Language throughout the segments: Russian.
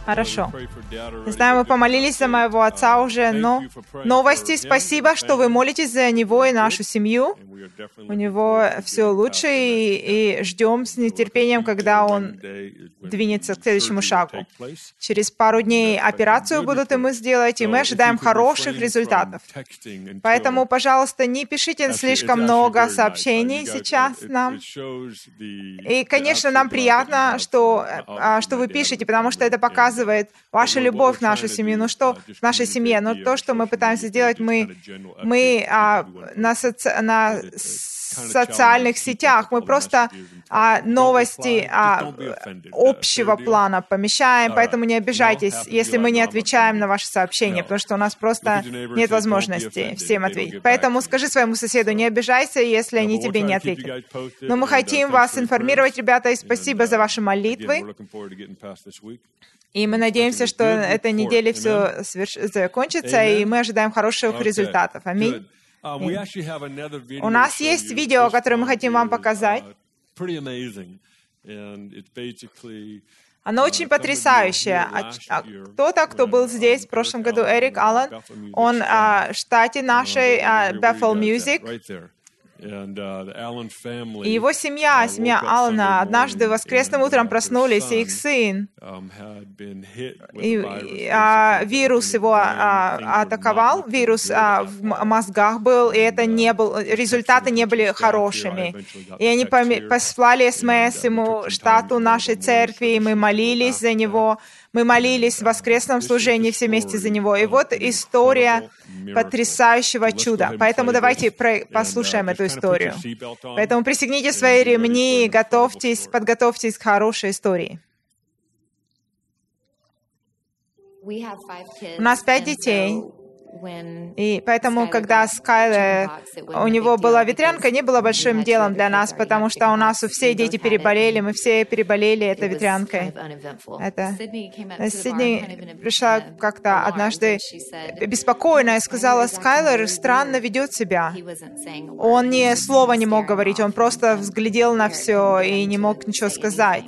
Хорошо. Знаю, мы помолились за моего отца уже, но новости, спасибо, что вы молитесь за него и нашу семью. У него все лучше, и ждем с нетерпением, когда он двинется к следующему шагу. Через пару дней операцию будут ему сделать, и мы ожидаем хороших результатов. Поэтому, пожалуйста, не пишите слишком много сообщений сейчас нам. И, конечно, нам приятно, что вы пишете, потому что это показывает вашу любовь к нашей семье. Ну что в нашей семье? Но то, что мы пытаемся сделать, мы на социальных сетях, мы просто новости общего плана помещаем, поэтому не обижайтесь, если мы не отвечаем на ваши сообщения, потому что у нас просто нет возможности всем ответить. Поэтому скажи своему соседу, не обижайся, если они тебе не ответят. Но мы хотим вас информировать, ребята, и спасибо за ваши молитвы. И мы надеемся, что этой неделе все закончится, и мы ожидаем хороших результатов. Аминь. У нас есть видео, которое мы хотим вам показать. Оно очень потрясающее. Кто-то, кто был здесь в прошлом году, Эрик Аллен, он в штате нашей Bethel Music. И его семья Аллена, однажды воскресным утром проснулись, и их сын, вирус его атаковал, вирус в мозгах был, и результаты не были хорошими. И они послали СМС ему, штату нашей церкви, и мы молились за него. Мы молились в воскресном служении все вместе за него. И вот история потрясающего чуда. Поэтому давайте послушаем эту историю. Поэтому пристегните свои ремни, подготовьтесь к хорошей истории. У нас 5 детей. И поэтому, когда Скайлер, у него была ветрянка, не было большим делом для нас, потому что у нас все дети переболели, мы все переболели этой ветрянкой. Сидни пришла как-то однажды беспокойная и сказала, Скайлер странно ведет себя. Он ни слова не мог говорить, он просто взглядел на все и не мог ничего сказать.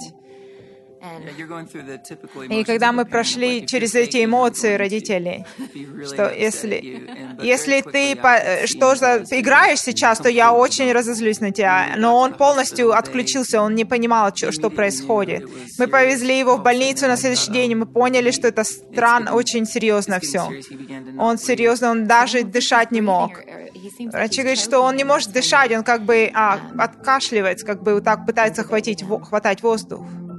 И когда мы прошли через эти эмоции родителей, что если ты играешь сейчас, то я очень разозлюсь на тебя. Но он полностью отключился, он не понимал, что происходит. Мы повезли его в больницу на следующий день, и мы поняли, что это очень серьезно все. Он даже дышать не мог. Врачи говорят, что он не может дышать, он как бы откашливается, как бы вот так пытается хватать воздух.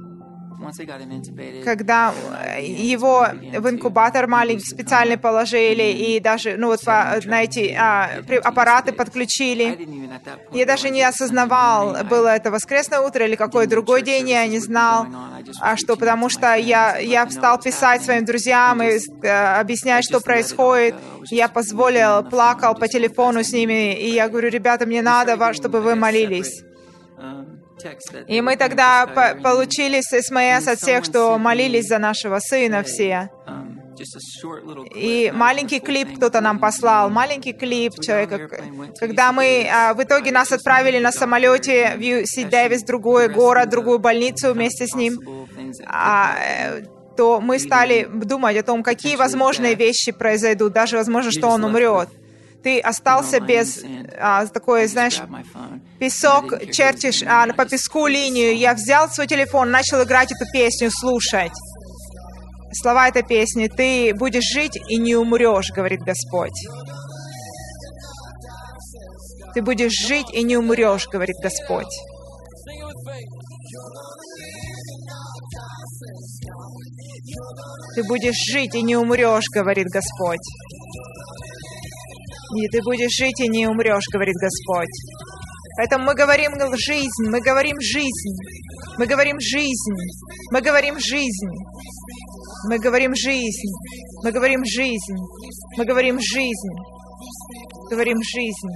Когда его в инкубатор маленький специальный положили, и даже на эти аппараты подключили. Я даже не осознавал, было это воскресное утро или какой другой день, я не знал, потому что я стал писать своим друзьям и объяснять, что происходит. Я плакал по телефону с ними, и я говорю, ребята, мне надо, чтобы вы молились. И мы тогда получили СМС от всех, что молились за нашего сына все. И маленький клип кто-то нам послал, маленький клип человека. Когда в итоге нас отправили на самолете в UC Дэвис, другой город, другую больницу вместе с ним, то мы стали думать о том, какие возможные вещи произойдут, даже возможно, что он умрет. Ты остался без такой, знаешь, песок, чертишь по песку линию. Я взял свой телефон, начал играть эту песню, слушать. Слова этой песни. «Ты будешь жить и не умрешь», говорит Господь. «Ты будешь жить и не умрешь», говорит Господь. «Ты будешь жить и не умрешь», говорит Господь. И ты будешь жить и не умрешь, говорит Господь. Поэтому мы говорим жизнь, мы говорим жизнь, мы говорим жизнь, мы говорим жизнь, мы говорим жизнь, мы говорим жизнь, мы говорим жизнь, говорим жизнь.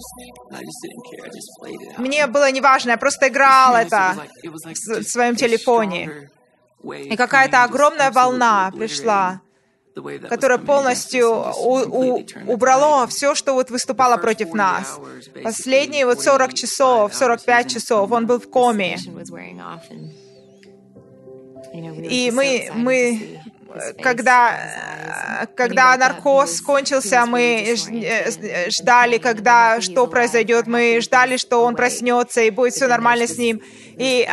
Мне было неважно, я просто играл это в своем телефоне. И какая-то огромная волна пришла, которое полностью убрало все, что выступало против нас. Последние 40 часов, 45 часов он был в коме. И мы когда наркоз кончился, мы ждали, что произойдет. Мы ждали, что он проснется, и будет все нормально с ним. И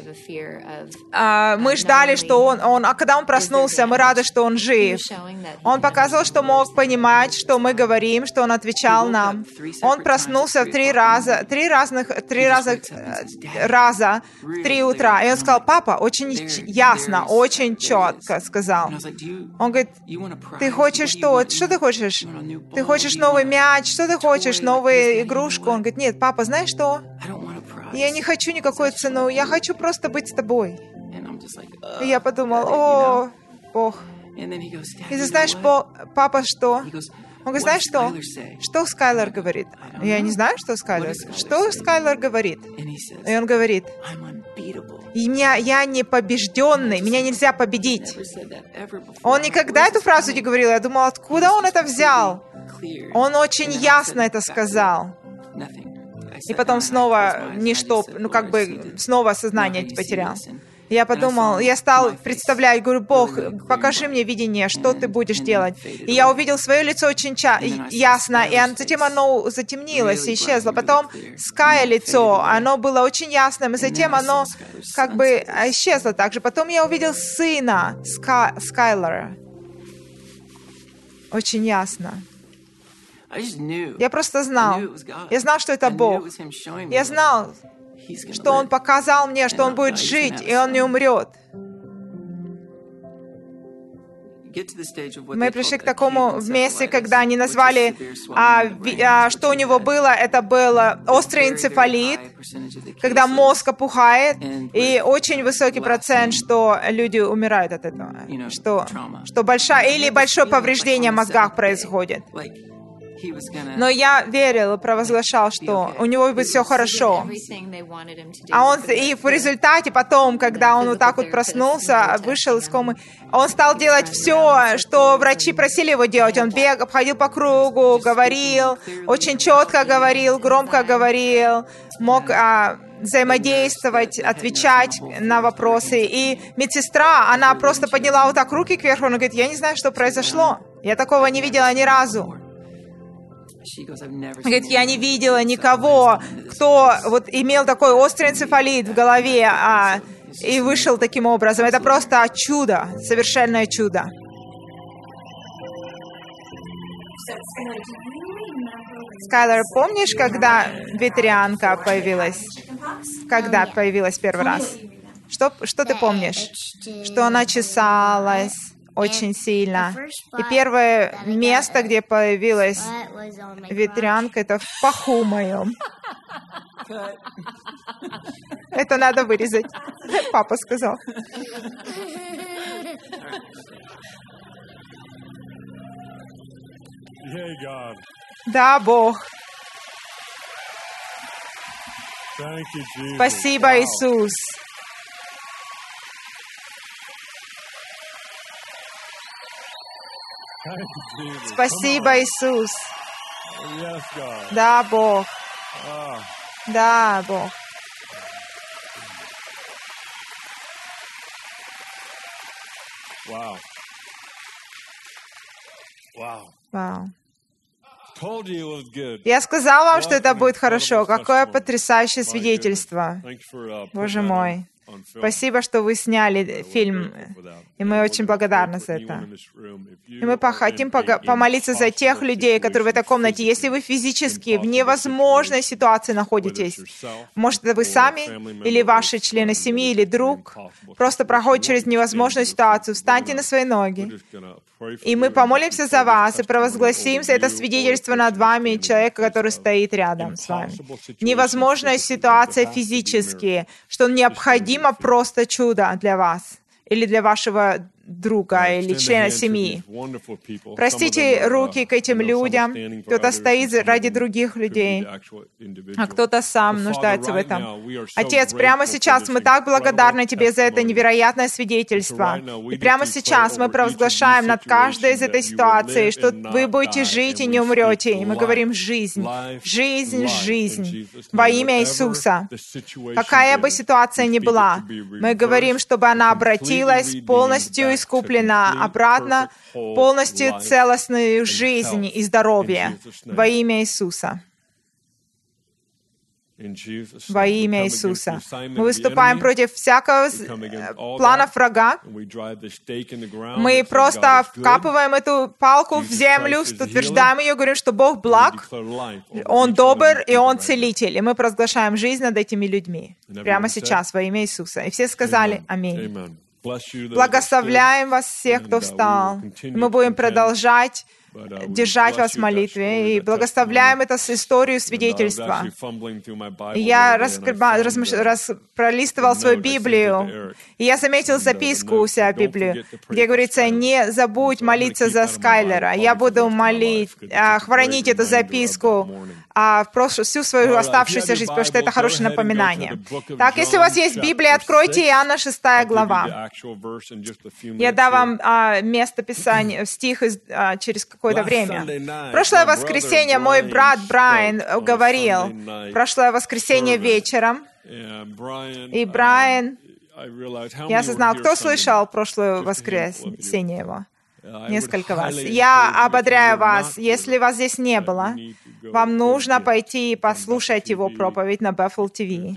мы ждали, что а когда он проснулся, мы рады, что он жив. Он показывал, что мог понимать, что мы говорим, что он отвечал нам. Он проснулся в 3 раза в 3 утра. И он сказал: папа, очень ясно, очень четко сказал. Он говорит: ты хочешь что? Что ты хочешь? Ты хочешь новый мяч? Что ты хочешь? Новую игрушку? Он говорит: нет, папа, знаешь что? Я не хочу никакую цену, я хочу просто быть с тобой. И я подумал: о, Бог. И ты знаешь, папа, что? Он говорит: знаешь что? Что Скайлер говорит? Я не знаю, что Скайлер. Что Скайлер говорит? И он говорит: я не побежденный, меня нельзя победить. Он никогда эту фразу не говорил. Я думал, откуда он это взял? Он очень ясно это сказал. И потом снова снова сознание потерял. Я подумал, я стал представлять, говорю: Бог, покажи мне видение, что ты будешь делать. И я увидел свое лицо очень ясно, и затем оно затемнилось и исчезло. Потом Скай лицо, оно было очень ясным, и затем оно исчезло также. Потом я увидел сына Скайлера. Очень ясно. Я просто знал. Я знал, что это Бог. Я знал, что Он показал мне, что Он будет жить, и Он не умрет. Мы пришли к такому месте, когда они назвали, что у него было. Это был острый энцефалит, когда мозг опухает, и очень высокий процент, что люди умирают от этого, что большое повреждение в мозгах происходит. Но я верил и провозглашал, что у него будет все хорошо. И в результате потом, когда он вот так вот проснулся, вышел из комы, он стал делать все, что врачи просили его делать. Он ходил по кругу, говорил, очень четко говорил, громко говорил, мог взаимодействовать, отвечать на вопросы. И медсестра, она просто подняла вот так руки кверху, она говорит: я не знаю, что произошло. Я такого не видела ни разу. Говорит: я не видела никого, кто имел такой острый энцефалит в голове и вышел таким образом. Это просто чудо, совершенное чудо. Скайлер, помнишь, когда ветрянка появилась? Когда появилась первый раз? Что ты помнишь? Что она чесалась очень сильно. И первое место, где появилась ветрянка, это в паху моем. Это надо вырезать. Папа сказал. Да, Бог. Спасибо, Иисус. Спасибо, Иисус. Да, Бог. Да, Бог. Вау. Я сказал вам, что это будет хорошо. Какое потрясающее свидетельство. Боже мой. Спасибо, что вы сняли фильм, и мы очень благодарны за это. И мы хотим помолиться за тех людей, которые в этой комнате. Если вы физически в невозможной ситуации находитесь, может, это вы сами, или ваши члены семьи, или друг, просто проходит через невозможную ситуацию, встаньте на свои ноги. И мы помолимся за вас и провозгласим это свидетельство над вами, человека, который стоит рядом с вами. Невозможная ситуация физически, что необходимо просто чудо для вас или для вашего друга или члена семьи. Простите руки к этим людям. Кто-то стоит ради других людей, а кто-то сам нуждается в этом. Отец, прямо сейчас мы так благодарны Тебе за это невероятное свидетельство. И прямо сейчас мы провозглашаем над каждой из этой ситуации, что вы будете жить и не умрете. И мы говорим: жизнь, жизнь, жизнь. Во имя Иисуса. Какая бы ситуация ни была, мы говорим, чтобы она обратилась полностью искуплено обратно, полностью целостную жизнь и здоровье во имя Иисуса. Во имя Иисуса. Мы выступаем против всякого плана врага. Мы просто вкапываем эту палку в землю, утверждаем ее, говорим, что Бог благ, Он добр и Он целитель. И мы провозглашаем жизнь над этими людьми. Прямо сейчас, во имя Иисуса. И все сказали «Аминь». Благословляем вас всех, кто встал. Мы будем продолжать держать вас в молитве и благословляем эту историю свидетельства. Я пролистывал свою Библию, и я заметил записку у себя в Библии, где говорится: «Не забудь молиться за Скайлера». Я буду хранить эту записку всю свою оставшуюся жизнь, потому что это хорошее напоминание. Так, если у вас есть Библия, откройте Иоанна 6 глава. Я дам вам место Писания, стих через какое-то время. Прошлое воскресенье мой брат Брайан говорил, прошлое воскресенье вечером, и Брайан, я осознал, кто слышал прошлое воскресенье его? Несколько вас. Я ободряю вас, если вас здесь не было, вам нужно пойти и послушать его проповедь на Bethel TV.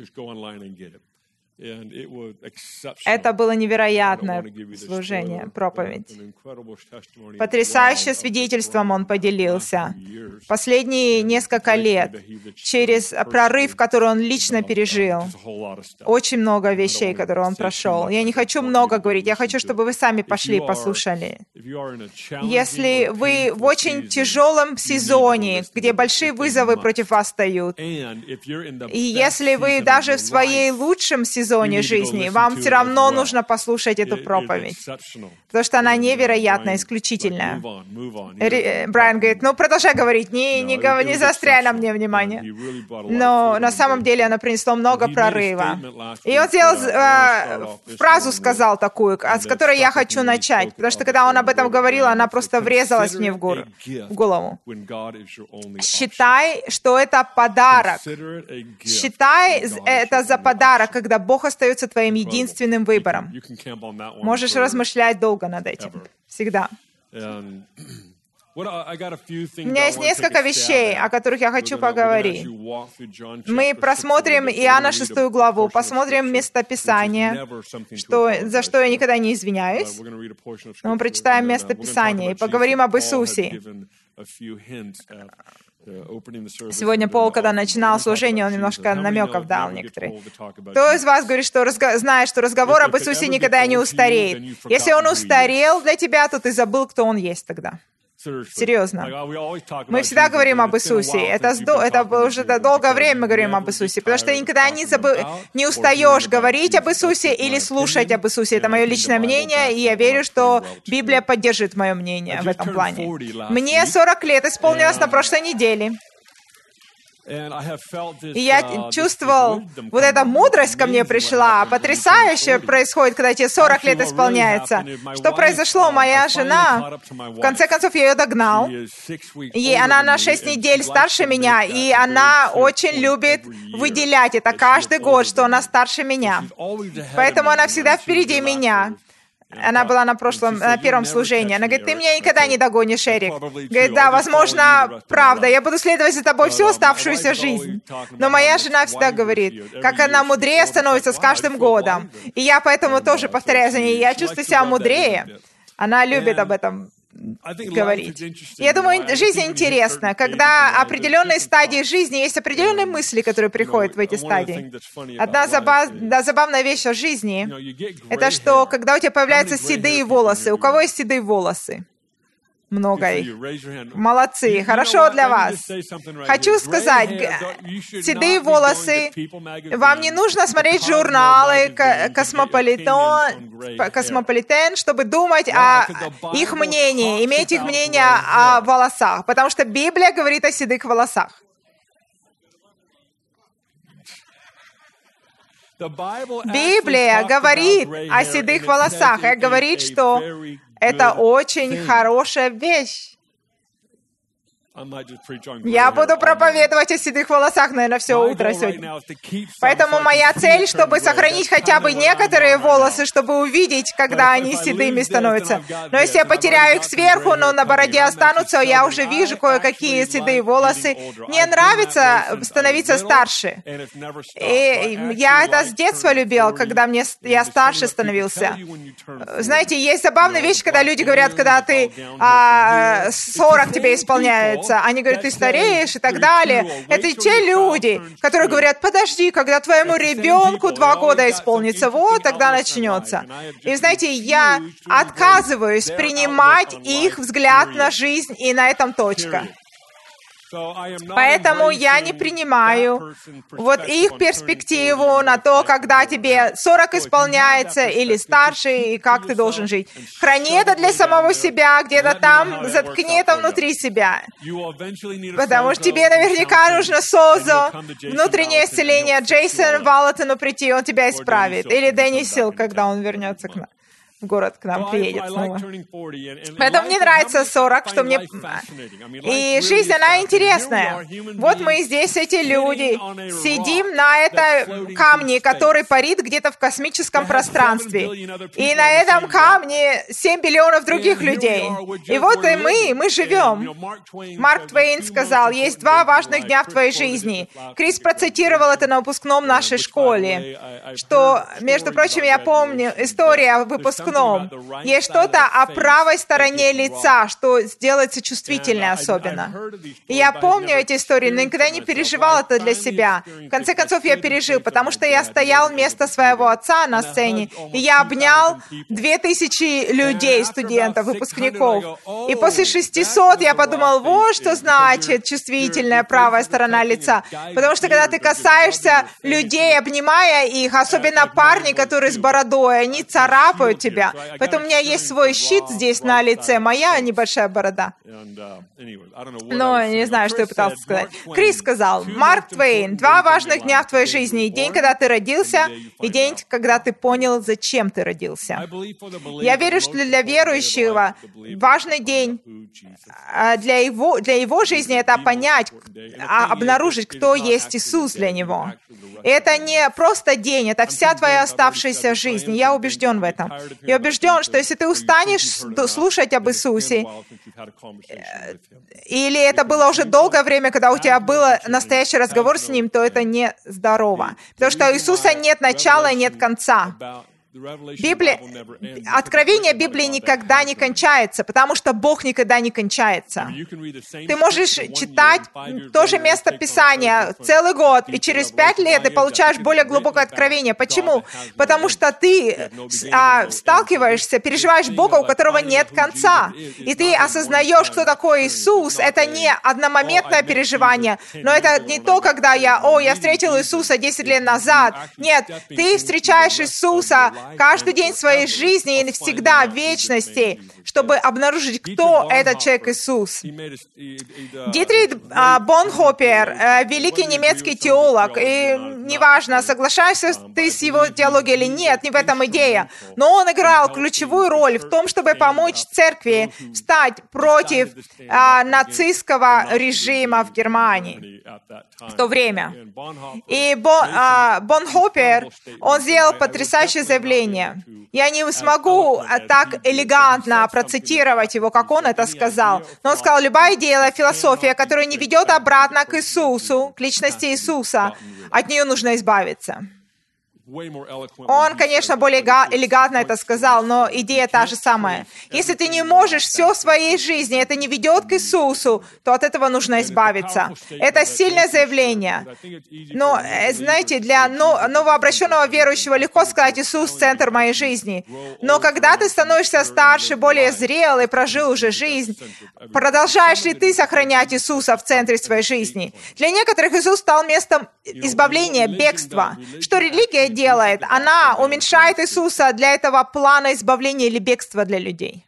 Это было невероятное служение, проповедь. Потрясающим свидетельством он поделился. Последние несколько лет, через прорыв, который он лично пережил, очень много вещей, которые он прошел. Я не хочу много говорить, я хочу, чтобы вы сами пошли и послушали. Если вы в очень тяжелом сезоне, где большие вызовы против вас встают, и если вы даже в своей лучшем сезоне жизни, вам все равно нужно послушать эту проповедь, потому что она невероятно исключительная. Брайан говорит, продолжай говорить, не заостряй на мне внимание. Но на самом деле она принесла много прорыва. И он сделал, фразу сказал такую, с которой я хочу начать, потому что когда он об этом говорил, она просто врезалась мне в голову. Считай, что это подарок. Считай это за подарок, когда Бог остается твоим единственным выбором. Можешь размышлять долго над этим. Всегда. У меня есть несколько вещей, о которых я хочу поговорить. Мы просмотрим Иоанна 6 главу, посмотрим местописание, за что я никогда не извиняюсь. Но мы прочитаем местописание и поговорим об Иисусе. Сегодня Пол, когда начинал служение, он немножко намеков дал некоторые. Кто из вас говорит, что знает, что разговор об Иисусе никогда не устареет? Если он устарел для тебя, то ты забыл, кто он есть тогда. Серьезно. Мы всегда говорим об Иисусе. Это уже долгое время мы говорим об Иисусе, потому что ты никогда не устаешь говорить об Иисусе или слушать об Иисусе. Это мое личное мнение, и я верю, что Библия поддержит мое мнение в этом плане. Мне 40 лет исполнилось на прошлой неделе. И я чувствовал, вот эта мудрость ко мне пришла. Потрясающе происходит, когда тебе 40 лет исполняется. Что произошло? Моя жена, в конце концов, я ее догнал. И она на 6 недель старше меня, и она очень любит выделять это каждый год, что она старше меня. Поэтому она всегда впереди меня. Она была на первом служении. Она говорит, ты меня никогда не догонишь, Эрик. Говорит, да, возможно, правда, я буду следовать за тобой всю оставшуюся жизнь. Но моя жена всегда говорит, как она мудрее становится с каждым годом. И я поэтому тоже повторяю за ней, я чувствую себя мудрее. Она любит об этом говорить. Я думаю, жизнь интересна. Когда определенные стадии жизни, есть определенные мысли, которые приходят в эти стадии. Одна забавная вещь о жизни, это что, когда у тебя появляются седые волосы. У кого есть седые волосы? Много их. Молодцы. Хорошо для вас. Хочу сказать, седые волосы, вам не нужно смотреть журналы «Космополитен», чтобы думать о их мнении, иметь их мнение о волосах, потому что Библия говорит о седых волосах. Библия говорит о седых волосах и говорит, что это очень хорошая вещь. Я буду проповедовать о седых волосах, наверное, все утро сегодня. Поэтому моя цель, чтобы сохранить хотя бы некоторые волосы, чтобы увидеть, когда они седыми становятся. Но если я потеряю их сверху, но на бороде останутся, я уже вижу кое-какие седые волосы. Мне нравится становиться старше. И я это с детства любил, когда я старше становился. Знаете, есть забавная вещь, когда люди говорят, когда ты 40 тебе исполняется. Они говорят, ты стареешь и так далее. Это те люди, которые говорят, подожди, когда твоему ребенку 2 года исполнится, вот тогда начнется. И знаете, я отказываюсь принимать их взгляд на жизнь, и на этом точка. Поэтому я не принимаю вот их перспективу на то, когда тебе 40 исполняется или старше, и как ты должен жить. Храни это для самого себя, где-то там, заткни это внутри себя. Потому что тебе наверняка нужно СОЗО, внутреннее исцеление, Джейсон Валлотону прийти, он тебя исправит. Или Дэнни Сил, когда он вернется к нам. В город к нам приедет снова. Поэтому мне нравится 40, что мне... И жизнь, она интересная. Вот мы здесь, эти люди, сидим на этом камне, который парит где-то в космическом пространстве. И на этом камне 7 биллионов других людей. И вот и мы живем. Марк Твейн сказал, есть 2 важных дня в твоей жизни. Крис процитировал это на выпускном нашей школе, что, между прочим, я помню история выпускного. Есть что-то о правой стороне лица, что сделается чувствительной особенно. И я помню эти истории, но никогда не переживал это для себя. В конце концов, я пережил, потому что я стоял вместо своего отца на сцене, и я обнял 2000 людей, студентов, выпускников. И после 600 я подумал, вот что значит чувствительная правая сторона лица. Потому что когда ты касаешься людей, обнимая их, особенно парни, которые с бородой, они царапают тебя. Поэтому у меня есть свой щит здесь на лице, моя небольшая борода. Но не знаю, что я пытался сказать. Крис сказал, Марк Твейн, 2 важных дня в твоей жизни. День, когда ты родился, и день, когда ты понял, зачем ты родился. Я верю, что для верующего важный день для его жизни — это понять, обнаружить, кто есть Иисус для него. И это не просто день, это вся твоя оставшаяся жизнь. Я убежден в этом. Я убежден, что если ты устанешь слушать об Иисусе, или это было уже долгое время, когда у тебя был настоящий разговор с Ним, то это не здорово. Потому что у Иисуса нет начала и нет конца. Откровение Библии никогда не кончается, потому что Бог никогда не кончается. Ты можешь читать то же место Писания целый год, и через 5 лет ты получаешь более глубокое откровение. Почему? Потому что ты сталкиваешься, переживаешь Бога, у которого нет конца. И ты осознаешь, кто такой Иисус. Это не одномоментное переживание, но это не то, когда я встретил Иисуса 10 лет назад. Нет, ты встречаешь Иисуса каждый день своей жизни и навсегда в вечности, чтобы обнаружить, кто этот человек Иисус. Дитрих Бонхофер, великий немецкий теолог, и неважно, соглашаешься ты с его теологией или нет, не в этом идея, но он играл ключевую роль в том, чтобы помочь церкви встать против нацистского режима в Германии в то время. И Бонхофер, он сделал потрясающее заявление. Я не смогу так элегантно процитировать его, как он это сказал. Но он сказал, любая идея, философия, которая не ведет обратно к Иисусу, к личности Иисуса, от нее нужно избавиться. Он, конечно, более элегантно это сказал, но идея та же самая. Если ты не можешь все в своей жизни, это не ведет к Иисусу, то от этого нужно избавиться. Это сильное заявление. Но, знаете, для новообращенного верующего легко сказать, Иисус — центр моей жизни. Но когда ты становишься старше, более зрелый, прожил уже жизнь, продолжаешь ли ты сохранять Иисуса в центре своей жизни? Для некоторых Иисус стал местом избавления, бегства. Что религия делает? Она уменьшает Иисуса для этого плана избавления или бегства для людей.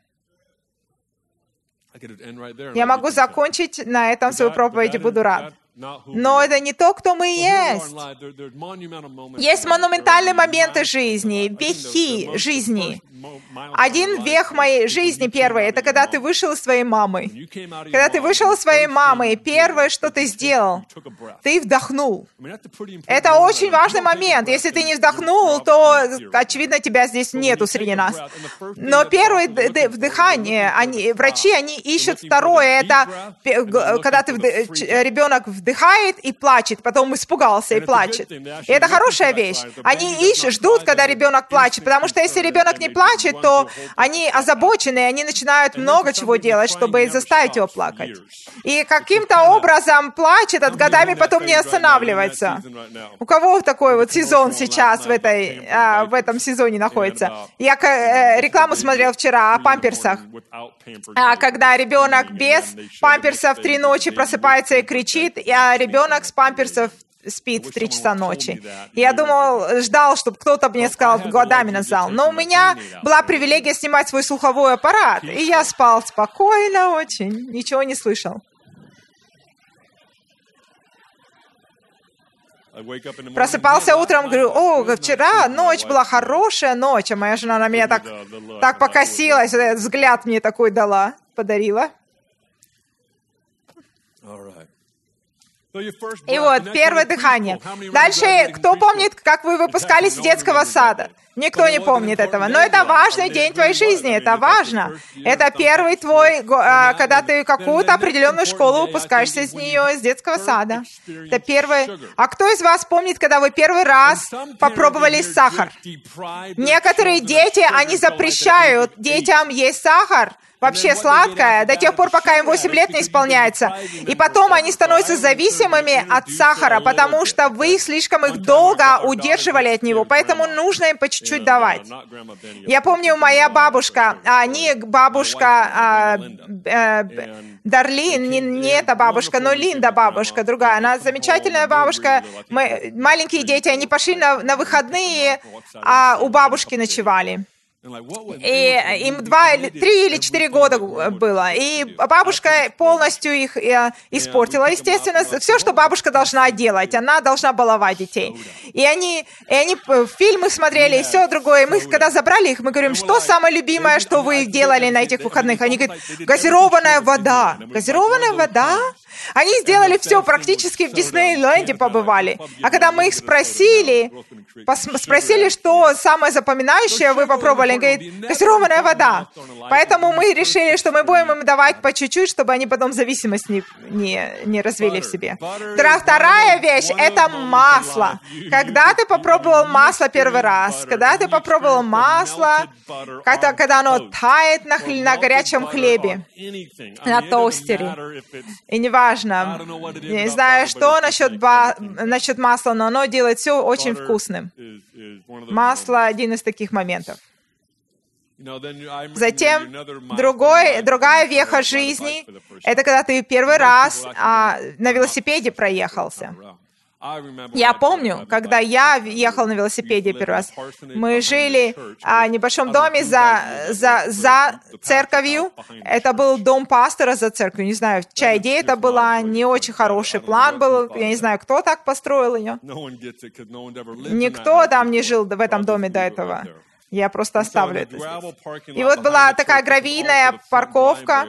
Я могу закончить на этом свою проповедь и буду рад. Но это не то, кто мы есть. Есть монументальные моменты жизни, вехи жизни. Один вех моей жизни первый, это когда ты вышел из своей мамы. Когда ты вышел из своей мамы, первое, что ты сделал, ты вдохнул. Это очень важный момент. Если ты не вдохнул, то, очевидно, тебя здесь нету среди нас. Но первое вдыхание, врачи, они ищут второе. Это когда ребенок вдыхает и плачет, потом испугался и плачет. И это хорошая вещь. Они ждут, когда ребенок плачет, потому что если ребенок не плачет, то они озабочены, и они начинают много чего делать, чтобы заставить его плакать. И каким-то образом плач этот годами потом не останавливается. У кого такой вот сезон сейчас в этом сезоне находится? Я рекламу смотрел вчера о памперсах. Когда ребенок без памперсов 3 ночи просыпается и кричит, а ребенок с памперсов спит в 3 часа ночи. Я ждал, чтобы кто-то мне сказал, годами назвал. Но у меня была привилегия снимать свой слуховой аппарат, и я спал спокойно очень, ничего не слышал. Просыпался утром, говорю, вчера ночь была хорошая ночь, а моя жена на меня так покосилась, взгляд мне такой подарила. И вот, первое дыхание. Дальше, кто помнит, как вы выпускались из детского сада? Никто не помнит этого. Но это важный день твоей жизни, это важно. Это первый твой, когда ты какую-то определенную школу выпускаешься из нее, из детского сада. Это первый. А кто из вас помнит, когда вы первый раз попробовали сахар? Некоторые дети, они запрещают детям есть сахар, вообще сладкое, до тех пор, пока им 8 лет не исполняется. И потом они становятся зависимыми от сахара, потому что вы слишком их долго удерживали от него, поэтому нужно им по чуть-чуть давать. Я помню, моя бабушка, Дарлин, не эта бабушка, но Линда бабушка, другая, она замечательная бабушка. Маленькие дети, они пошли на выходные, а у бабушки ночевали. И им 3 или 4 года было. И бабушка полностью их испортила. Естественно, все, что бабушка должна делать, она должна баловать детей. И они фильмы смотрели, и все другое. И мы, когда забрали их, мы говорим, что самое любимое, что вы делали на этих выходных? Они говорят, газированная вода. Газированная вода? Они сделали все, практически в Диснейленде побывали. А когда мы их спросили, что самое запоминающее вы попробовали, они говорят, газированная вода. Поэтому мы решили, что мы будем им давать по чуть-чуть, чтобы они потом зависимость не развили в себе. Вторая вещь — это масло. Когда ты попробовал масло первый раз, когда ты попробовал масло, когда оно тает на горячем хлебе, на тостере, и неважно, я не знаю, что насчет масла, но оно делает все очень вкусным. Масло — один из таких моментов. Затем другая веха жизни — это когда ты первый раз на велосипеде проехался. Я помню, когда я ехал на велосипеде первый раз, мы жили в небольшом доме за церковью. Это был дом пастора за церковью. Не знаю, чья идея это была, не очень хороший план был. Я не знаю, кто так построил ее. Никто там не жил в этом доме до этого. Я просто оставлю это здесь. И вот была такая гравийная парковка.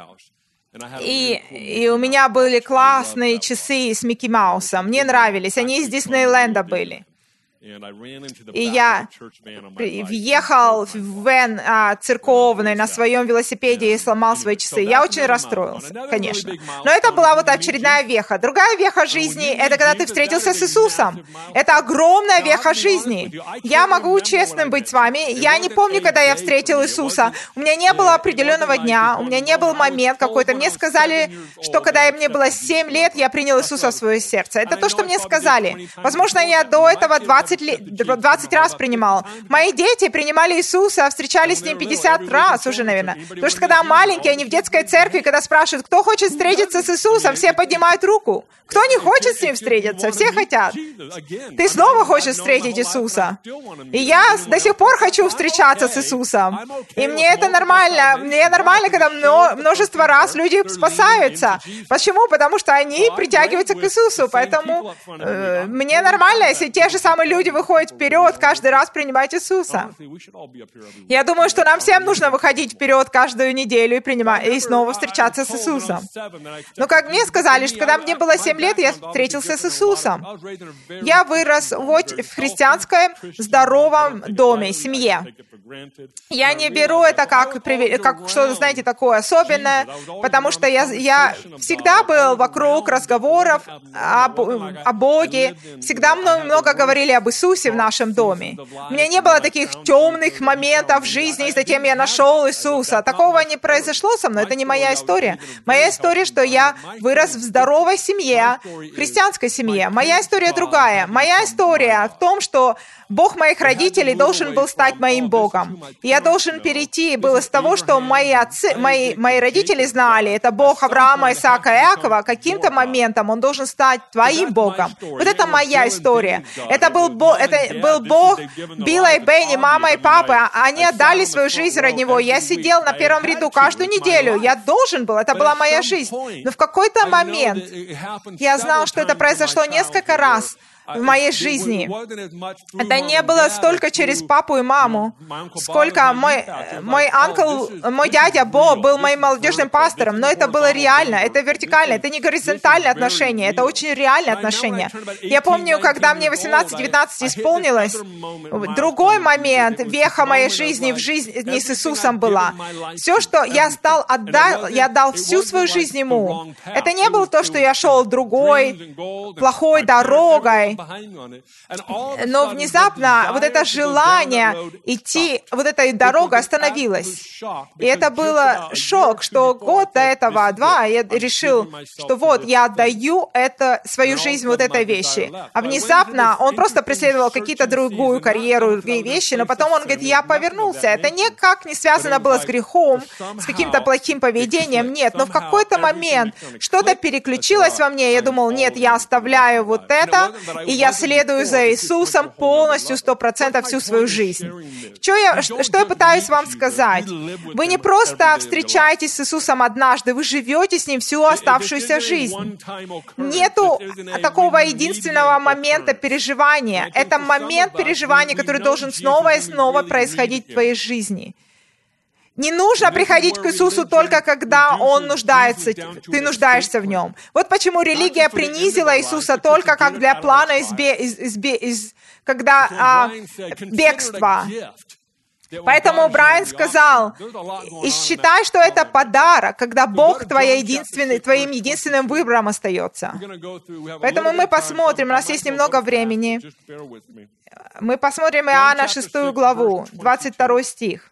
И у меня были классные часы с Микки Маусом. Мне нравились. Они из Диснейленда были. И я въехал в вен церковный на своем велосипеде и сломал свои часы. Я очень расстроился, конечно. Но это была вот очередная веха. Другая веха жизни — это когда ты встретился с Иисусом. Это огромная веха жизни. Я могу честным быть с вами. Я не помню, когда я встретил Иисуса. У меня не было определенного дня, у меня не был момент какой-то. Мне сказали, что когда мне было 7 лет, я принял Иисуса в свое сердце. Это то, что мне сказали. Возможно, я до этого 20 раз принимал. Мои дети принимали Иисуса, встречались с Ним 50 раз уже, наверное. Потому что когда маленькие, они в детской церкви, когда спрашивают, кто хочет встретиться с Иисусом, все поднимают руку. Кто не хочет с Ним встретиться? Все хотят. Ты снова хочешь встретить Иисуса. И я до сих пор хочу встречаться с Иисусом. И мне это нормально. Мне нормально, когда множество раз люди спасаются. Почему? Потому что они притягиваются к Иисусу. Поэтому мне нормально, если те же самые люди люди выходят вперед, каждый раз принимать Иисуса. Я думаю, что нам всем нужно выходить вперед каждую неделю и снова встречаться с Иисусом. Но как мне сказали, что когда мне было 7 лет, я встретился с Иисусом. Я вырос в христианском здоровом доме, семье. Я не беру это как что-то, знаете, такое особенное, потому что я всегда был вокруг разговоров о Боге, всегда много говорили об Иисусе в нашем доме. У меня не было таких темных моментов в жизни, и затем я нашел Иисуса. Такого не произошло со мной, это не моя история. Моя история, что я вырос в здоровой семье, христианской семье. Моя история другая. Моя история в том, что Бог моих родителей должен был стать моим Богом. Я должен перейти было с того, что мои родители знали, это Бог Авраама, Исаака и Иакова, каким-то моментом Он должен стать твоим Богом. Вот это моя история. Это был Бог Билла и Бенни, мама и папа. Они отдали свою жизнь ради Него. Я сидел на первом ряду каждую неделю. Я должен был, это была моя жизнь. Но в какой-то момент я знал, что это произошло несколько раз в моей жизни. Это не было столько через папу и маму, сколько мой дядя Бо был моим молодежным пастором, но это было реально, это вертикально, это не горизонтальные отношения, это очень реальные отношения. Я помню, когда мне 18-19 исполнилось, другой момент, веха моей жизни в жизни с Иисусом была. Все, что я отдал всю свою жизнь Ему. Это не было то, что я шел другой, плохой дорогой, но внезапно вот это желание идти, вот эта дорога остановилась. И это было шок, что год до этого, 2, я решил, что вот, я отдаю свою жизнь вот этой вещи. А внезапно он просто преследовал какие-то другую карьеру, другие вещи, но потом он говорит, я повернулся. Это никак не связано было с грехом, с каким-то плохим поведением, нет. Но в какой-то момент что-то переключилось во мне, я думал, нет, я оставляю вот это, и я следую за Иисусом полностью, 100% всю свою жизнь. Что я пытаюсь вам сказать? Вы не просто встречаетесь с Иисусом однажды, вы живете с Ним всю оставшуюся жизнь. Нету такого единственного момента переживания. Это момент переживания, который должен снова и снова происходить в твоей жизни. Не нужно приходить к Иисусу только когда Он нуждается, ты нуждаешься в Нем. Вот почему религия принизила Иисуса только как для плана бегства. Поэтому Брайан сказал, и считай, что это подарок, когда Бог твоим единственным выбором остается. Поэтому мы посмотрим, у нас есть немного времени, мы посмотрим Иоанна 6 главу, 22 стих.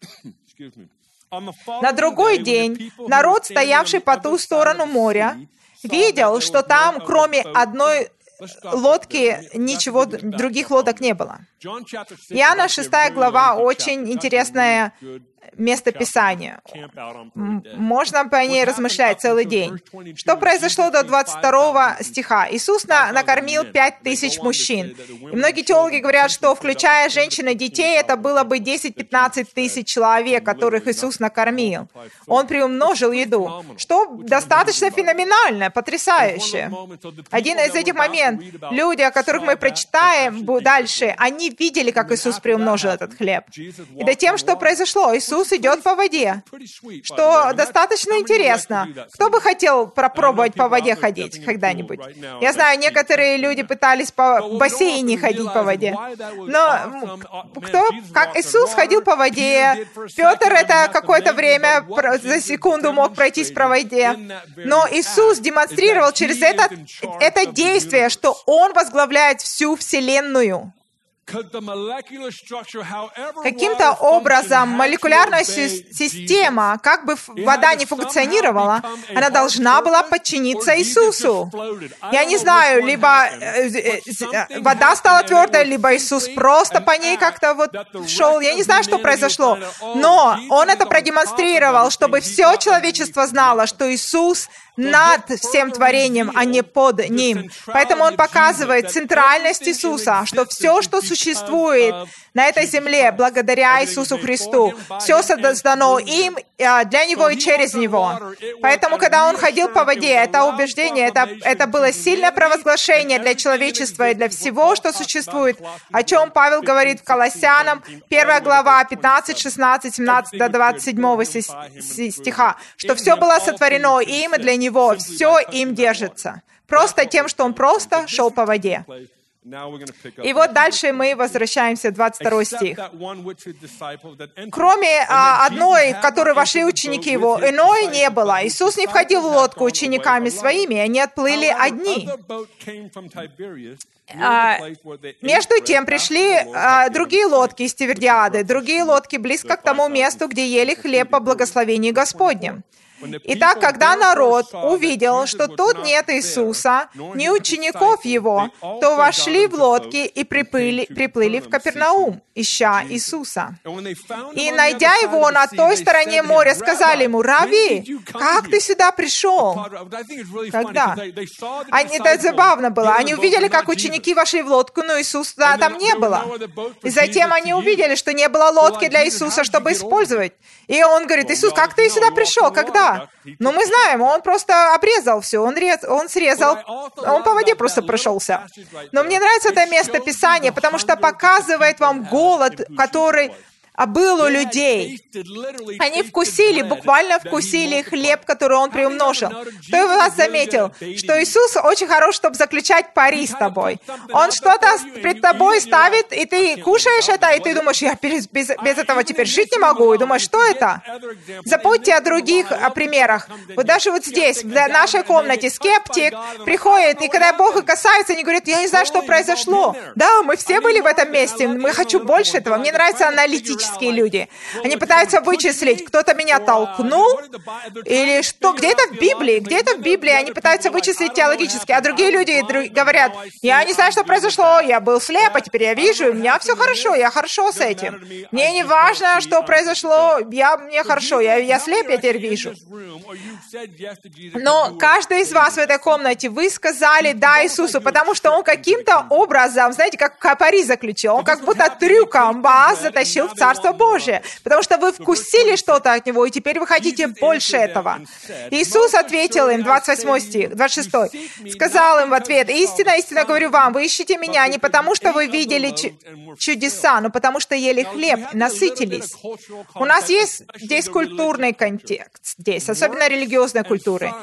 На другой день народ, стоявший по ту сторону моря, видел, что там, кроме одной лодки, ничего, других лодок не было. Иоанна 6 глава, очень интересное место Писания. Можно по ней размышлять целый день. Что произошло до 22 стиха? Иисус накормил 5000 мужчин. И многие теологи говорят, что, включая женщин и детей, это было бы 10-15 тысяч человек, которых Иисус накормил. Он приумножил еду, что достаточно феноменально, потрясающе. Один из этих моментов, люди, о которых мы прочитаем дальше, они видели, как Иисус приумножил этот хлеб. И до тем, что произошло, Иисус идет по воде, что достаточно интересно. Кто бы хотел попробовать по воде ходить когда-нибудь? Я знаю, некоторые люди пытались по бассейне ходить по воде. Но как Иисус ходил по воде, Петр это какое-то время за секунду мог пройтись по воде. Но Иисус демонстрировал через это действие, что Он возглавляет всю Вселенную. Каким-то образом молекулярная система, как бы вода не функционировала, она должна была подчиниться Иисусу. Я не знаю, либо вода стала твердой, либо Иисус просто по ней как-то вот шел. Я не знаю, что произошло. Но Он это продемонстрировал, чтобы все человечество знало, что Иисус над всем творением, а не под ним. Поэтому Он показывает центральность Иисуса, что все, что существует на этой земле благодаря Иисусу Христу. Все создано им, для Него и через Него. Поэтому, когда Он ходил по воде, это убеждение, это было сильное провозглашение для человечества и для всего, что существует, о чем Павел говорит в Колоссянам, 1 глава, 15, 16, 17 до 27 стиха, что все было сотворено им и для Него, все им держится. Просто тем, что Он просто шел по воде. И вот дальше мы возвращаемся в 22 стих. Кроме одной, в которую вошли ученики Его, иной не было. Иисус не входил в лодку учениками своими, они отплыли одни. Между тем пришли другие лодки из Тивериады, другие лодки близко к тому месту, где ели хлеб по благословении Господнем. Итак, когда народ увидел, что тут нет Иисуса, ни учеников Его, то вошли в лодки и приплыли в Капернаум, ища Иисуса. И, найдя Его на той стороне моря, сказали Ему: «Рави, как ты сюда пришел?» Когда? Это забавно было. Они увидели, как ученики вошли в лодку, но Иисуса там не было. И затем они увидели, что не было лодки для Иисуса, чтобы использовать. И Он говорит: «Иисус, как ты сюда пришел? Когда?» Ну, мы знаем, Он просто обрезал все, Он срезал, Он по воде просто прошелся. Но мне нравится это место Писания, потому что показывает вам голод, который был у людей. Они вкусили, буквально вкусили хлеб, который Он приумножил. Кто из вас заметил, что Иисус очень хорош, чтобы заключать пари с тобой? Он что-то пред тобой ставит, и ты кушаешь это, и ты думаешь: я без этого теперь жить не могу. И думаешь: что это? Забудьте о других примерах. Вот даже вот здесь, в нашей комнате, скептик приходит, и когда Бог их касается, они говорят: я не знаю, что произошло. Да, мы все были в этом месте, мы хочу больше этого. Мне нравятся аналитические люди. Они пытаются вычислить, кто-то меня толкнул, или что, где это в Библии, где это в Библии, они пытаются вычислить теологически, а другие люди говорят: я не знаю, что произошло, я был слеп, а теперь я вижу, у меня все хорошо, я хорошо с этим. Мне не важно, что произошло, мне хорошо, я слеп, я теперь вижу. Но каждый из вас в этой комнате, вы сказали «да» Иисусу, потому что Он каким-то образом, знаете, как пари заключил, Он как будто трюком вас затащил в Царство Божие, потому что вы вкусили что-то от Него, и теперь вы хотите больше этого. Иисус ответил им, 28 стих, 26, сказал им в ответ: «Истинно, истинно говорю вам, вы ищете Меня не потому, что вы видели чудеса, но потому, что ели хлеб, насытились». У нас есть здесь культурный контекст, здесь, особенно религиозной культуры.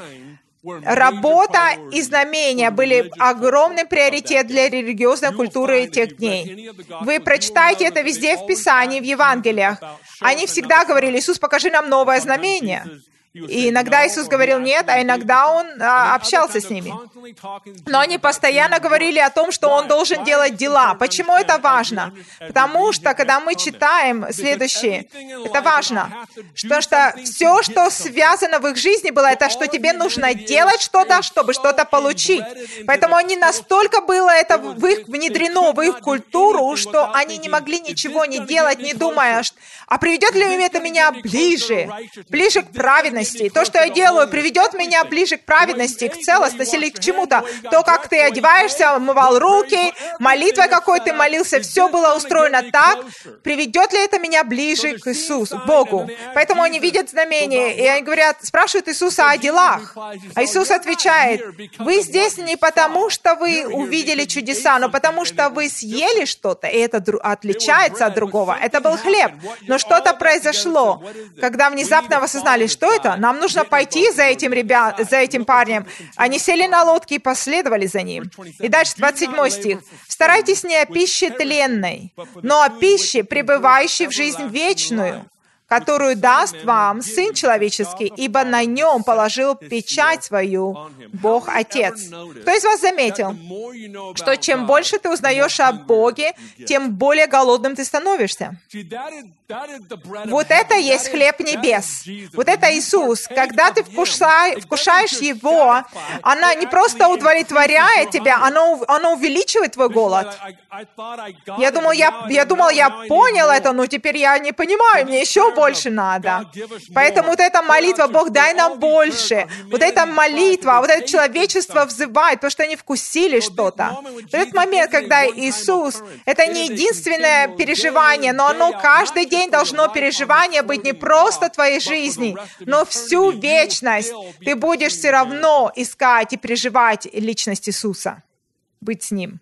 Работа и знамения были огромный приоритет для религиозной культуры тех дней. Вы прочитаете это везде в Писании, в Евангелиях. Они всегда говорили: «Иисус, покажи нам новое знамение». И иногда Иисус говорил нет, а иногда Он общался с ними. Но они постоянно говорили о том, что Он должен делать дела. Почему это важно? Потому что, когда мы читаем следующее, это важно. Потому что все, что связано в их жизни было, это что тебе нужно делать что-то, чтобы что-то получить. Поэтому они настолько было это внедрено в их культуру, что они не могли ничего не делать, не думая, а приведет ли это меня ближе к праведности. То, что я делаю, приведет меня ближе к праведности, к целостности или к чему-то. То, как ты одеваешься, умывал руки, молитвой какой ты молился, все было устроено так. Приведет ли это меня ближе к Иисусу, к Богу? Поэтому они видят знамения, и они говорят, спрашивают Иисуса о делах. А Иисус отвечает: вы здесь не потому, что вы увидели чудеса, но потому, что вы съели что-то, и это отличается от другого. Это был хлеб. Но что-то произошло, когда внезапно вы осознали, что это? Нам нужно пойти за этим парнем. Они сели на лодки и последовали за ним. И дальше 27 стих. «Старайтесь не о пище тленной, но о пище, пребывающей в жизнь вечную, которую даст вам Сын Человеческий, ибо на Нем положил печать свою Бог Отец». Кто из вас заметил, что чем больше ты узнаешь о Боге, тем более голодным ты становишься? Вот это есть хлеб небес. Вот это Иисус. Когда ты вкушаешь Его, она не просто удовлетворяет тебя, она увеличивает твой голод. Я думал, я понял это, но теперь я не понимаю, мне еще больше надо. Поэтому вот эта молитва, Бог, дай нам больше. Вот эта молитва, вот это человечество взывает, потому что они вкусили что-то. В этот момент, когда Иисус, это не единственное переживание, но оно каждый день должно переживание быть не просто твоей жизни, но всю вечность ты будешь все равно искать и переживать личность Иисуса, быть с Ним.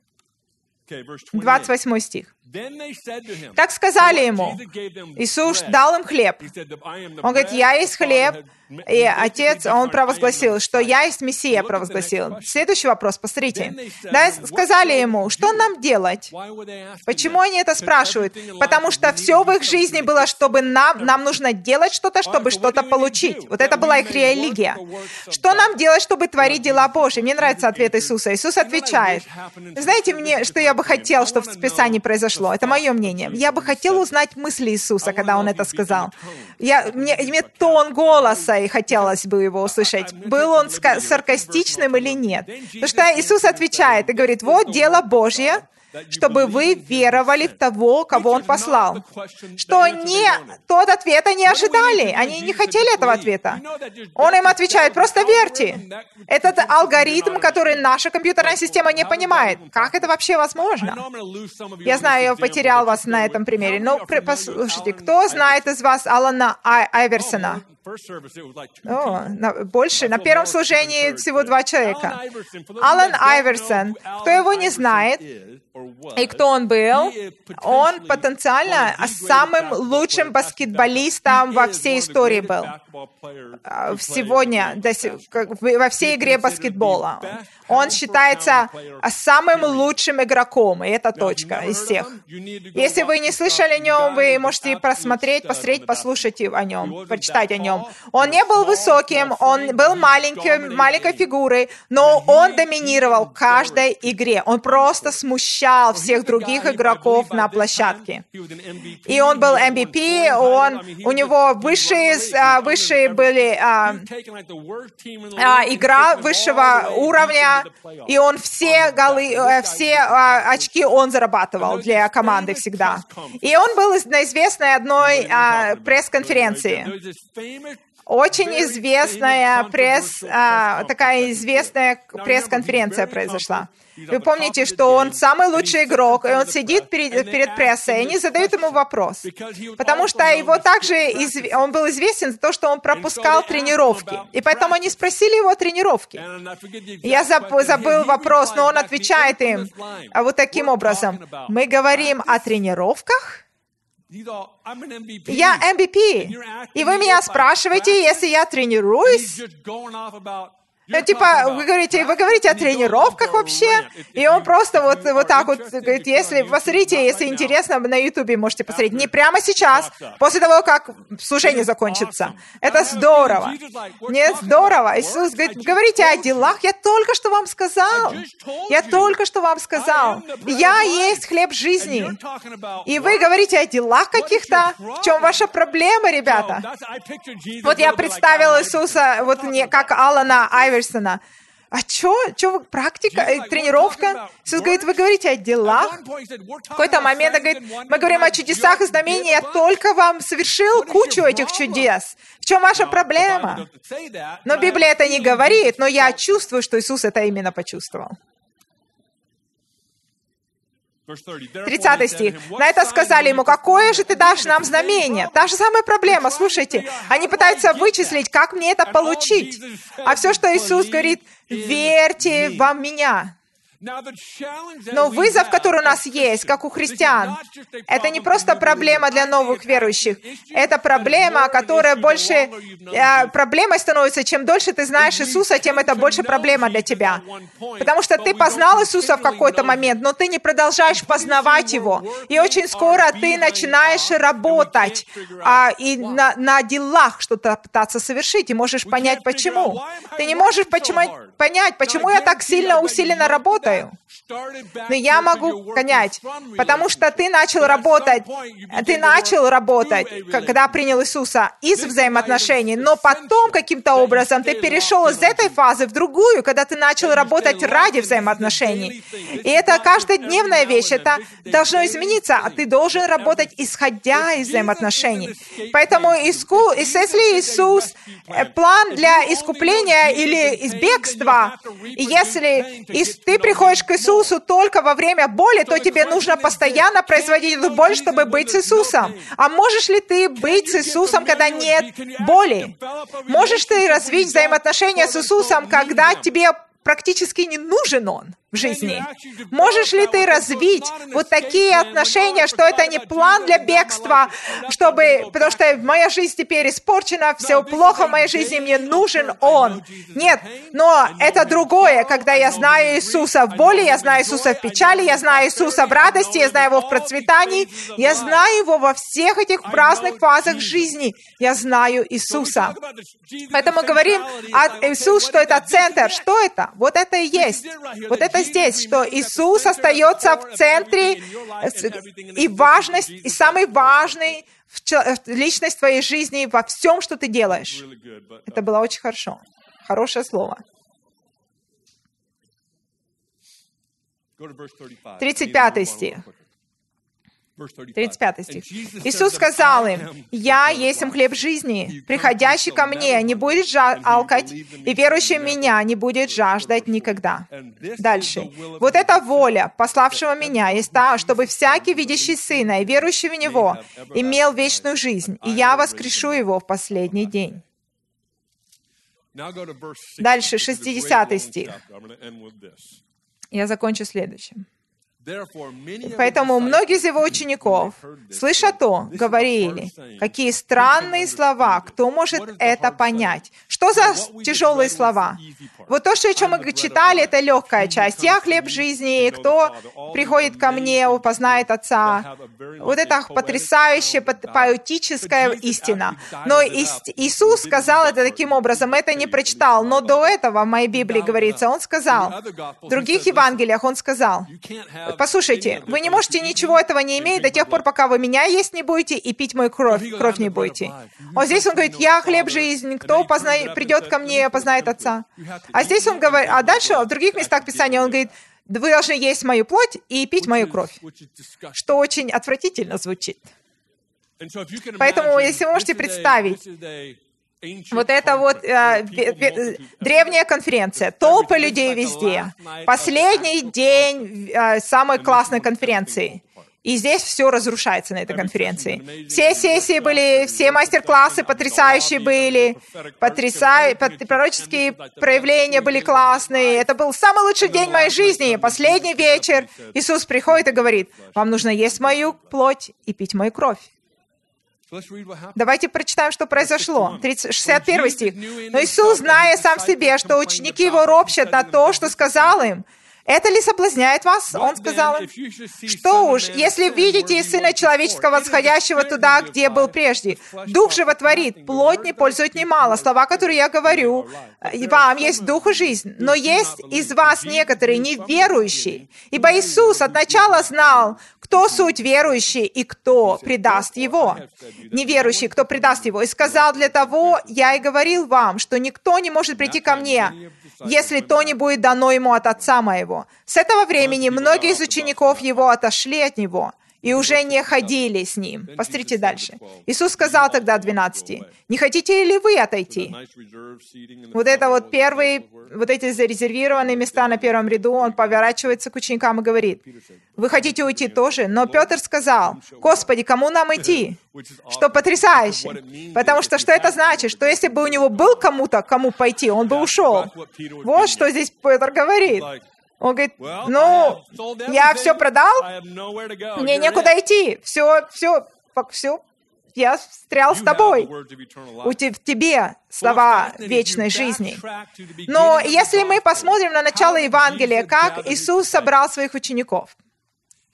28 стих. Так сказали ему. Иисус дал им хлеб. Он говорит, я есть хлеб. И Отец, Он провозгласил, что я есть Мессия, провозгласил. Следующий вопрос, посмотрите. Да, сказали ему, что нам делать? Почему они это спрашивают? Потому что все в их жизни было, чтобы нам нужно делать что-то, чтобы что-то получить. Вот это была их религия. Что нам делать, чтобы творить дела Божьи? Мне нравится ответ Иисуса. Иисус отвечает. Знаете, что я бы хотел, чтобы в Писании произошло? Это мое мнение. Я бы хотел узнать мысли Иисуса, когда Он это сказал. Мне тон голоса, и хотелось бы его услышать. Был он саркастичным или нет? Потому что Иисус отвечает и говорит, вот дело Божье, чтобы вы веровали в того, кого Он послал. Что тот ответа не ожидали. Они не хотели этого ответа. Он им отвечает, просто верьте. Этот алгоритм, который наша компьютерная система не понимает. Как это вообще возможно? Я знаю, я потерял вас на этом примере. Но послушайте, кто знает из вас Алана Айверсона? Больше. На первом служении всего 2 человека. Алан Айверсон. Кто его не знает, и кто он был, он потенциально самым лучшим баскетболистом во всей истории был. Сегодня, во всей игре баскетбола. Он считается самым лучшим игроком, и это точка из всех. Если вы не слышали о нем, вы можете посмотреть, послушать о нем, почитать о нем. Он не был высоким, он был маленькой фигурой, но он доминировал в каждой игре. Он просто смущал всех других игроков на площадке. И он был MVP, у него высшие были игра высшего уровня, и он все очки он зарабатывал для команды всегда. И он был на известной одной пресс-конференции. Очень известная такая известная пресс-конференция произошла. Вы помните, что он самый лучший игрок, и он сидит перед прессой, и они задают ему вопрос. Потому что он был известен за то, что он пропускал тренировки. И поэтому они спросили его о тренировке. Я забыл вопрос, но он отвечает им вот таким образом. Мы говорим о тренировках? Я MVP. И вы меня спрашиваете, если я тренируюсь? Вы говорите о тренировках вообще? И он просто вот так вот говорит, посмотрите, если интересно, на Ютубе можете посмотреть. Не прямо сейчас, после того, как служение закончится. Это здорово. Нет, здорово. Иисус говорит, говорите о делах, я только что вам сказал. Я есть хлеб жизни. И вы говорите о делах каких-то? В чем ваша проблема, ребята? Вот я представил Иисуса, как Алана Айверсона. А что практика, тренировка? Иисус говорит, вы говорите о делах? В какой-то момент он говорит, мы говорим о чудесах и знамениях, я только вам совершил кучу этих чудес. В чем ваша проблема? Но Библия это не говорит, но я чувствую, что Иисус это именно почувствовал. 30 стих. На это сказали ему, какое же ты дашь нам знамение? Та же самая проблема, слушайте. Они пытаются вычислить, как мне это получить. А все, что Иисус говорит, верьте во Меня. Но вызов, который у нас есть, как у христиан, это не просто проблема для новых верующих. Это проблема, которая больше проблемой становится. Чем дольше ты знаешь Иисуса, тем это больше проблема для тебя. Потому что ты познал Иисуса в какой-то момент, но ты не продолжаешь познавать Его. И очень скоро ты начинаешь работать и на делах что-то пытаться совершить, и можешь понять, почему. Ты не можешь понять, почему я так сильно усиленно работаю. Но я могу понять, потому что ты начал работать, когда принял Иисуса из взаимоотношений, но потом каким-то образом ты перешел из этой фазы в другую, когда ты начал работать ради взаиотношений. И это каждодневная вещь, это должно измениться, а ты должен работать исходя из взаимоотношений. Поэтому если Иисус план для искупления или из бегства, и если ты приходишь к Иисусу только во время боли, то тебе нужно постоянно производить эту боль, чтобы быть с Иисусом. А можешь ли ты быть с Иисусом, когда нет боли? Можешь ты развить взаимоотношения с Иисусом, когда тебе практически не нужен Он в жизни? Можешь ли ты развить вот такие отношения, что это не план для бегства, потому что моя жизнь теперь испорчена, все плохо в моей жизни, мне нужен Он. Нет, но это другое, когда я знаю Иисуса в боли, я знаю Иисуса в печали, я знаю Иисуса в радости, я знаю Его в процветании, я знаю Его во всех этих разных фазах жизни. Я знаю Иисуса. Поэтому говорим Иисус, что это центр. Что это? Вот это и есть. Вот это здесь, что Иисус остается в центре и важность, и самый важный личность твоей жизни во всем, что ты делаешь. Это было очень хорошо. Хорошее слово. 35 стих. 35 стих. Иисус сказал им: «Я есть хлеб жизни. Приходящий ко мне не будет алкать, и верующий в Меня не будет жаждать никогда». Дальше. «Вот эта воля пославшего Меня есть та, чтобы всякий, видящий Сына и верующий в Него, имел вечную жизнь, и Я воскрешу его в последний день». Дальше, 60 стих. Я закончу следующим. Поэтому многие из его учеников, слыша то, говорили: «Какие странные слова! Кто может это понять?» Что за тяжелые слова? Вот то, о чем мы читали, это легкая часть. «Я хлеб жизни, кто приходит ко мне, познает Отца». Вот это потрясающая, поэтическая истина. Но Иисус сказал это таким образом, это не прочитал, но до этого в моей Библии говорится, Он сказал, в других Евангелиях Он сказал: «Послушайте, вы не можете ничего этого не иметь до тех пор, пока вы Меня есть не будете и пить Мою кровь не будете». Вот здесь Он говорит: «Я хлеб жизни, кто придет ко мне, познает Отца». А здесь Он говорит, а дальше в других местах Писания Он говорит: «Вы должны есть Мою плоть и пить Мою кровь», что очень отвратительно звучит. Поэтому, если вы можете представить, вот это вот древняя конференция, толпы людей везде, последний день самой классной конференции. И здесь все разрушается на этой конференции. Все сессии были, все мастер-классы потрясающие были, пророческие проявления были классные. Это был самый лучший день моей жизни. Последний вечер Иисус приходит и говорит: «Вам нужно есть Мою плоть и пить Мою кровь». Давайте прочитаем, что произошло. 61 стих. «Но Иисус, зная сам себе, что ученики Его ропщат на то, что сказал им, это ли соблазняет вас?» Он сказал им: «Что уж, если видите Сына Человеческого восходящего туда, где был прежде. Дух животворит, плоть не пользует немало. Слова, которые я говорю, вам есть дух и жизнь. Но есть из вас некоторые неверующие. Ибо Иисус от начала знал, кто суть верующий и кто предаст Его. Неверующий, кто предаст Его. И сказал: для того я и говорил вам, что никто не может прийти ко мне, если то не будет дано ему от Отца моего». С этого времени многие из учеников Его отошли от Него и уже не ходили с Ним. Посмотрите дальше. Иисус сказал тогда 12: «Не хотите ли вы отойти?» Вот это вот первые, вот эти зарезервированные места на первом ряду, Он поворачивается к ученикам и говорит: «Вы хотите уйти тоже?» Но Петр сказал: «Господи, кому нам идти?» Что потрясающе. Потому что это значит? Что если бы у него был кому пойти, он бы ушел. Вот что здесь Петр говорит. Он говорит: я все продал, мне некуда идти, все, я встрял с тобой. В тебе слова вечной жизни. Но если мы посмотрим на начало Евангелия, как Иисус собрал своих учеников.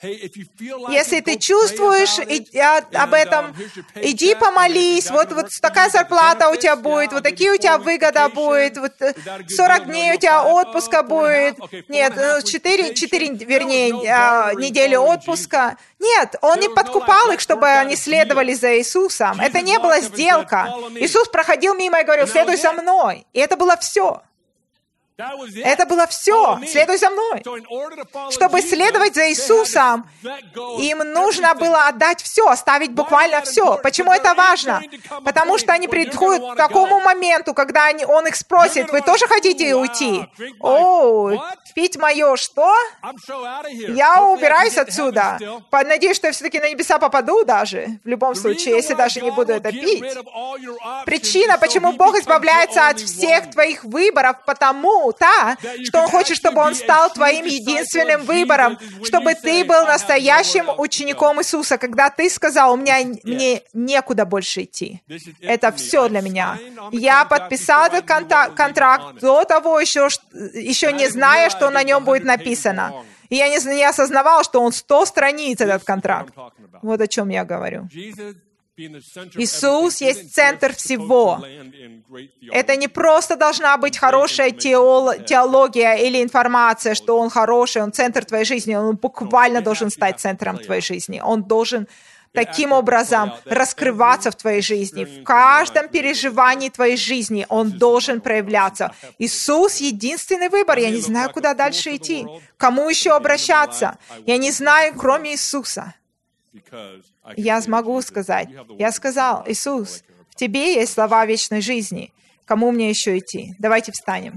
Если ты чувствуешь об этом, иди помолись, вот такая зарплата у тебя будет, вот такие у тебя выгода будет, вот 40 дней у тебя отпуска будет, нет, 4 недели отпуска. Нет, он не подкупал их, чтобы они следовали за Иисусом. Это не была сделка. Иисус проходил мимо и говорил: следуй за мной. И это было все. Это было все. Следуй за мной. Чтобы следовать за Иисусом, им нужно было отдать все, оставить буквально все. Почему это важно? Потому что они приходят к такому моменту, когда Он их спросит: вы тоже хотите уйти? О, пить мое что? Я убираюсь отсюда. Надеюсь, что я все-таки на небеса попаду даже, в любом случае, если даже не буду это пить. Причина, почему Бог избавляется от всех твоих выборов, что Он хочет, чтобы Он стал твоим единственным выбором, чтобы ты был настоящим учеником Иисуса, когда ты сказал: мне некуда больше идти. Это все для меня. Я подписал этот контракт до того еще не зная, что на нем будет написано. И я не осознавал, что он 100 страниц, этот контракт. Вот о чем я говорю. Иисус есть центр всего. Это не просто должна быть хорошая теология или информация, что Он хороший, Он центр твоей жизни. Он буквально должен стать центром твоей жизни. Он должен таким образом раскрываться в твоей жизни. В каждом переживании твоей жизни Он должен проявляться. Иисус — единственный выбор. Я не знаю, куда дальше идти. К кому еще обращаться? Я не знаю, кроме Иисуса. Я смогу сказать. Я сказал: Иисус, в Тебе есть слова вечной жизни. Кому мне еще идти? Давайте встанем.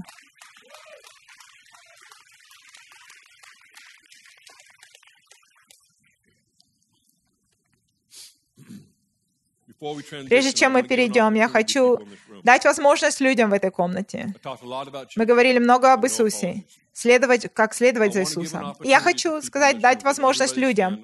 Прежде чем мы перейдем, я хочу дать возможность людям в этой комнате. Мы говорили много об Иисусе. Как следовать за Иисусом. И я хочу дать возможность людям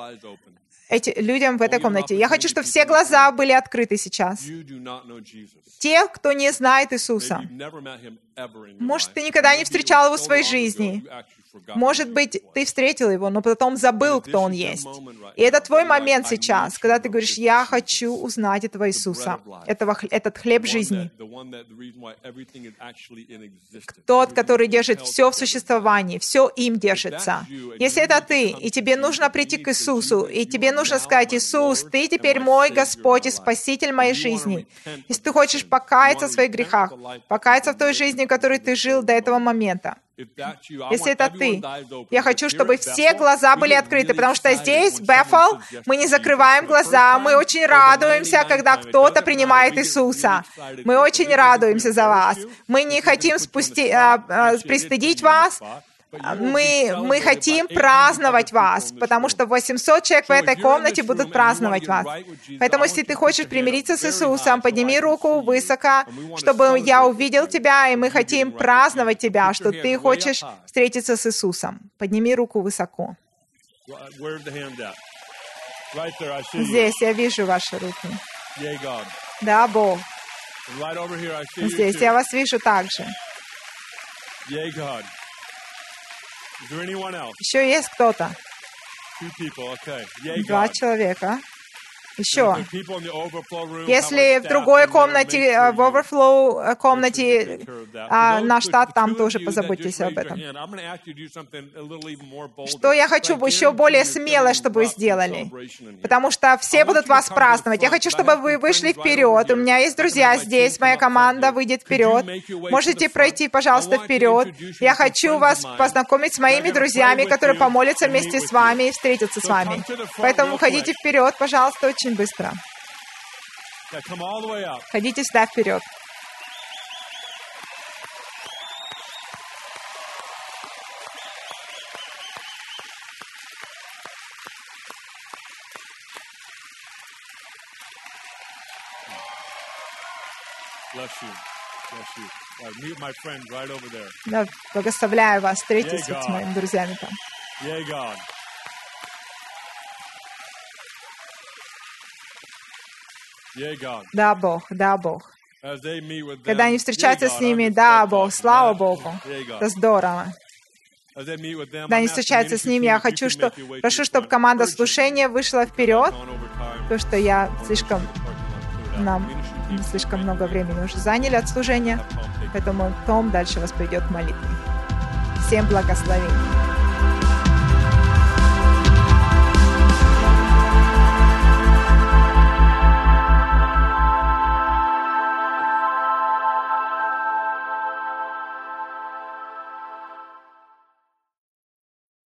в этой комнате. Я хочу, чтобы все глаза были открыты сейчас. Те, кто не знает Иисуса. Может, ты никогда не встречал Его в своей жизни. Может быть, ты встретил Его, но потом забыл, кто Он есть. И это твой момент сейчас, когда ты говоришь: я хочу узнать этого Иисуса, этот хлеб жизни. Тот, который держит все в существовании, все им держится. Если это ты, и тебе нужно прийти к Иисусу, и тебе нужно сказать: Иисус, Ты теперь мой Господь и Спаситель моей жизни. Если ты хочешь покаяться в своих грехах, покаяться в той жизни, в которой ты жил до этого момента. Если это ты, я хочу, чтобы все глаза были открыты, потому что здесь, в Бэффл, мы не закрываем глаза, мы очень радуемся, когда кто-то принимает Иисуса. Мы очень радуемся за вас. Мы не хотим пристыдить вас. Мы хотим праздновать вас, потому что 800 человек в этой комнате будут праздновать вас. Поэтому, если ты хочешь примириться с Иисусом, подними руку высоко, чтобы я увидел тебя, и мы хотим праздновать тебя, что ты хочешь встретиться с Иисусом. Подними руку высоко. Здесь я вижу ваши руки. Да, Бог. Здесь я вас вижу также. Еще есть кто-то? 2 человека. Еще. Если в другой комнате, в overflow комнате, наш штат, там тоже позаботьтесь об этом. Что я хочу еще более смело, чтобы вы сделали? Потому что все будут вас праздновать. Я хочу, чтобы вы вышли вперед. У меня есть друзья здесь, моя команда выйдет вперед. Можете пройти, пожалуйста, вперед. Я хочу вас познакомить с моими друзьями, которые помолятся вместе с вами и встретятся с вами. Поэтому выходите вперед, пожалуйста, очень быстро. Ходите сюда вперед. Да, благословляю вас. Встретитесь с моими друзьями там. Да, Бог, да, Бог. Когда они встречаются с ними, да, Бог, слава Богу. Это здорово. когда они встречаются с ними, я прошу, чтобы команда слушания вышла вперед, потому что нам слишком много времени уже заняли от служения, поэтому Том дальше вас поведет к молитве. Всем благословений.